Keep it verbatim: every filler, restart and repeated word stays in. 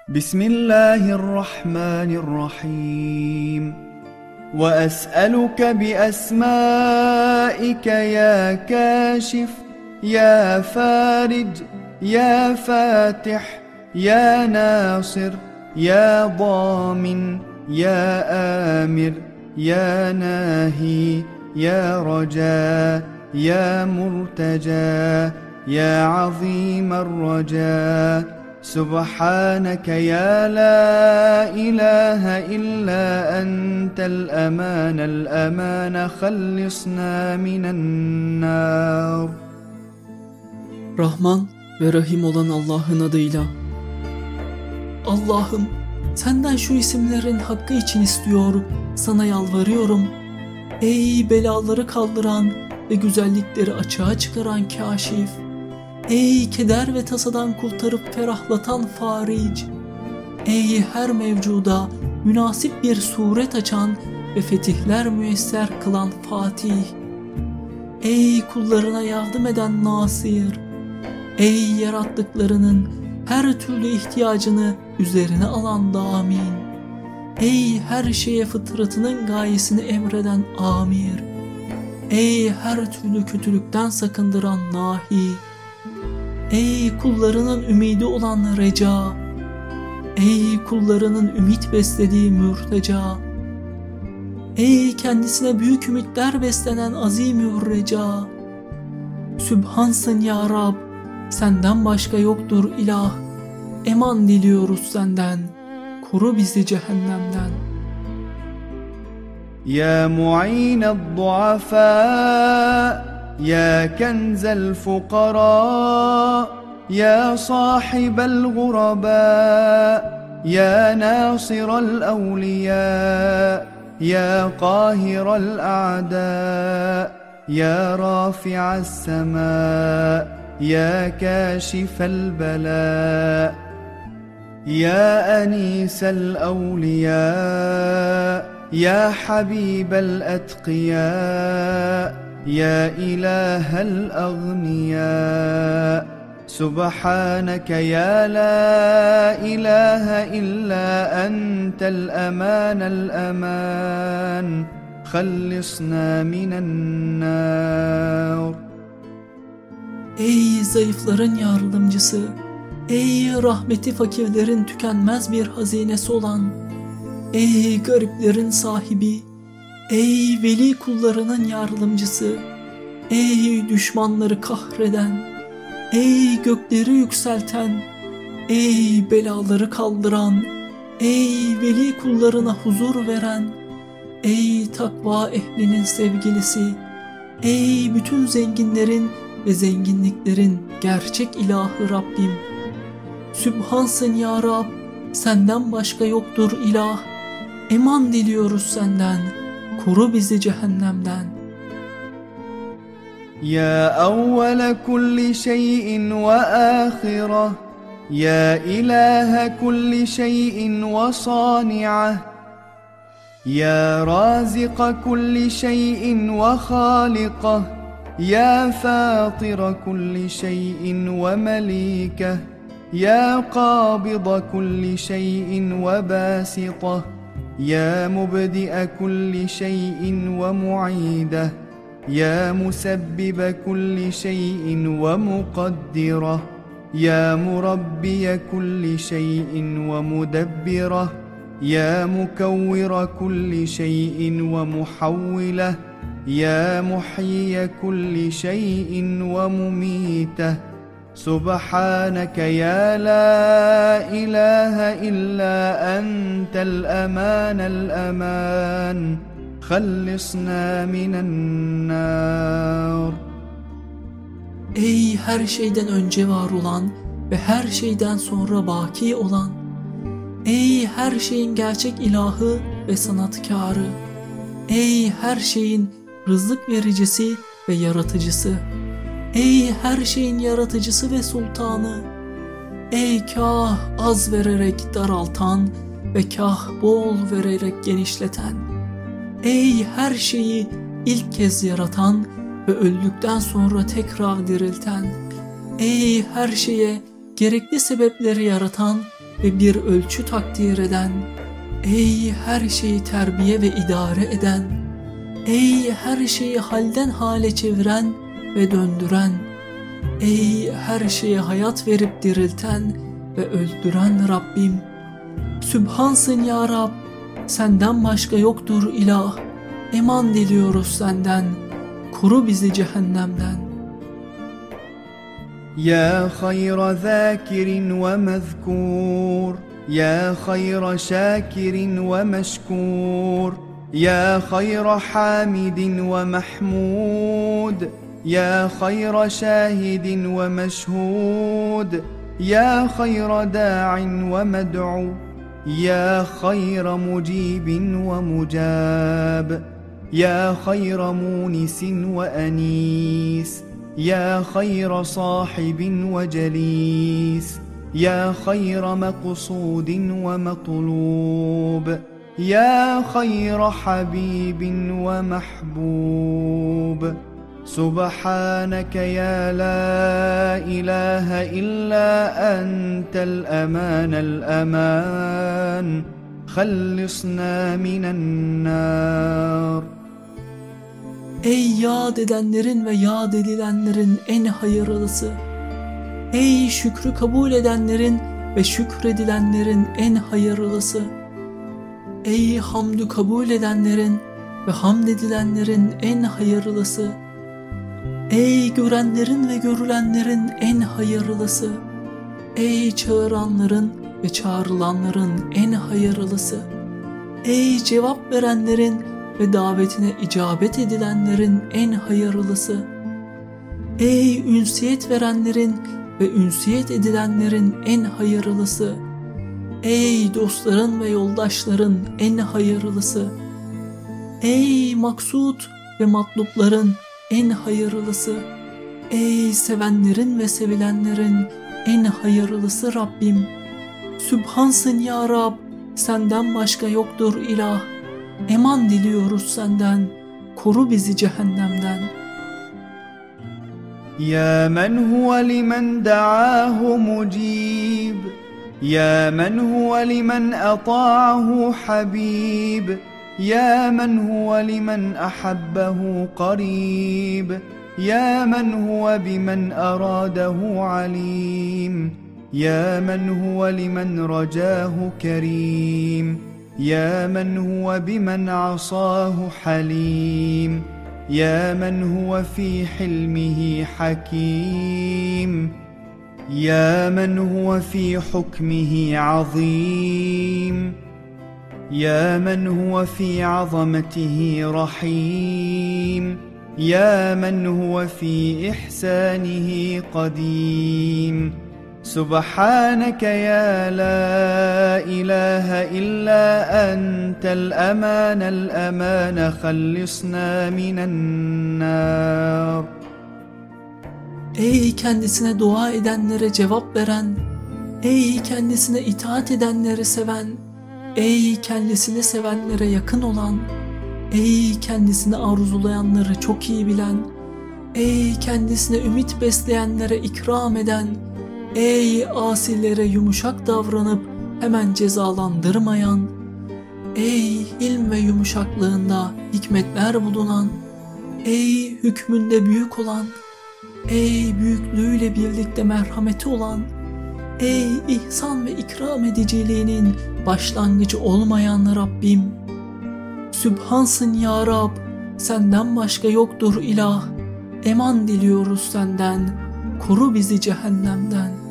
بسم الله الرحمن الرحيم وأسألك بأسمائك يا كاشف يا فارج يا فاتح يا ناصر يا ضامن يا آمر يا ناهي يا رجاء يا مرتجى يا عظيم الرجاء سبحانك يا لا إله إلا أنت الأمان الأمان خلصنا من النار. Rahman ve Rahim olan Allah'ın adıyla. Allah'ım, senden şu isimlerin hakkı için istiyor, sana yalvarıyorum. Ey belaları kaldıran ve güzellikleri açığa çıkaran Kâşif. Ey keder ve tasadan kurtarıp ferahlatan Faric. Ey her mevcuda münasip bir suret açan ve fetihler müyesser kılan Fatih. Ey kullarına yardım eden Nasir. Ey yarattıklarının her türlü ihtiyacını üzerine alan Damin. Ey her şeye fıtratının gayesini emreden Amir. Ey her türlü kötülükten sakındıran Nahi. Ey kullarının ümidi olan Reca. Ey kullarının ümit beslediği Mürteca. Ey kendisine büyük ümitler beslenen Azimür Reca. Sübhansın ya Rab, senden başka yoktur ilah. Eman diliyoruz senden, koru bizi cehennemden. Ya mu'ined du'afa يا كنز الفقراء يا صاحب الغرباء يا ناصر الأولياء يا قاهر الأعداء يا رافع السماء يا كاشف البلاء يا أنيس الأولياء يا حبيب الأتقياء يا إله الأغنياء سبحانك يا لا إله إلا أنت الأمان الأمان خلصنا من النار. Ey zayıfların yardımcısı, ey rahmeti fakirlerin tükenmez bir hazinesi olan, ey gariplerin sahibi, ey veli kullarının yardımcısı, ey düşmanları kahreden, ey gökleri yükselten, ey belaları kaldıran, ey veli kullarına huzur veren, ey takva ehlinin sevgilisi, ey bütün zenginlerin ve zenginliklerin gerçek ilahı Rabbim. Sübhansın ya Rab, senden başka yoktur ilah. Eman diliyoruz senden, koru bizi cehennemden. Ya evvele kulli şeyin ve ahireh, ya ilahe kulli şeyin ve sani'eh, ya razika kulli şeyin ve halikeh, ya fatira kulli şeyin ve melikeh, ya qabida kulli şeyin ve basiteh, يا مبدئ كل شيء ومعيده يا مسبب كل شيء ومقدره يا مربي كل شيء ومدبره يا مكور كل شيء ومحوله يا محيي كل شيء ومميته سبحانك يا لا إله إلا أنت الأمان الأمان خلصنا من النار. Ey her şeyden önce var olan ve her şeyden sonra baki olan, ey her şeyin gerçek ilahı ve sanatkarı, ey her şeyin rızık vericisi ve yaratıcısı, ey her şeyin yaratıcısı ve sultanı, ey kah az vererek daraltan ve kah bol vererek genişleten, ey her şeyi ilk kez yaratan ve öldükten sonra tekrar dirilten, ey her şeye gerekli sebepleri yaratan ve bir ölçü takdir eden, ey her şeyi terbiye ve idare eden, ey her şeyi halden hale çeviren ve döndüren, ey her şeye hayat verip dirilten ve öldüren Rabbim. Sübhansın ya Rab, senden başka yoktur ilah, eman diliyoruz senden, koru bizi cehennemden. يا خير ذاكر ومذكور يا خير شاكر ومشكور يا خير حامد ومحمود يا خير شاهد ومشهود يا خير داع ومدعو يا خير مجيب ومجاب يا خير مونس وأنيس يا خير صاحب وجليس يا خير مقصود ومطلوب يا خير حبيب ومحبوب سبحانك يا لا إله إلا أنت الأمان الأمان خلصنا من النار. Ey yad edenlerin ve yad edilenlerin en hayırlısı, ey şükrü kabul edenlerin ve şükredilenlerin en hayırlısı, ey hamdü kabul edenlerin ve hamd edilenlerin en hayırlısı, ey görenlerin ve görülenlerin en hayırlısı, ey çağıranların ve çağrılanların en hayırlısı, ey cevap verenlerin ve davetine icabet edilenlerin en hayırlısı, ey ünsiyet verenlerin ve ünsiyet edilenlerin en hayırlısı, ey dostların ve yoldaşların en hayırlısı, ey maksut ve matlupların en hayırlısı, ey sevenlerin ve sevilenlerin en hayırlısı Rabbim. Sübhansın ya Rab, senden başka yoktur ilah, eman diliyoruz senden, koru bizi cehennemden. يا من هو لمن دعاه مجيب يا من هو لمن أطاعه حبيب يا من هو لمن أحبه قريب يا من هو بمن أراده عليم يا من هو لمن رجاه كريم يا من هو بمن عصاه حليم يا من هو في حلمه حكيم يا من هو في حكمه عظيم يا من هو في عظمته رحيم يا من هو في إحسانه قديم سبحانك يا لا إله إلا أنت الأمان الأمان خلصنا من النار. Ey kendisine dua edenlere cevap veren, ey kendisine itaat edenleri seven, ey kendisini sevenlere yakın olan, ey kendisini arzulayanları çok iyi bilen, ey kendisine ümit besleyenlere ikram eden, ey asilere yumuşak davranıp hemen cezalandırmayan, ey ilm ve yumuşaklığında hikmetler bulunan, ey hükmünde büyük olan, ey büyüklüğüyle birlikte merhameti olan, ey ihsan ve ikram ediciliğinin başlangıcı olmayan Rabbim. Sübhansın ya Rab, senden başka yoktur ilah, eman diliyoruz senden, koru bizi cehennemden.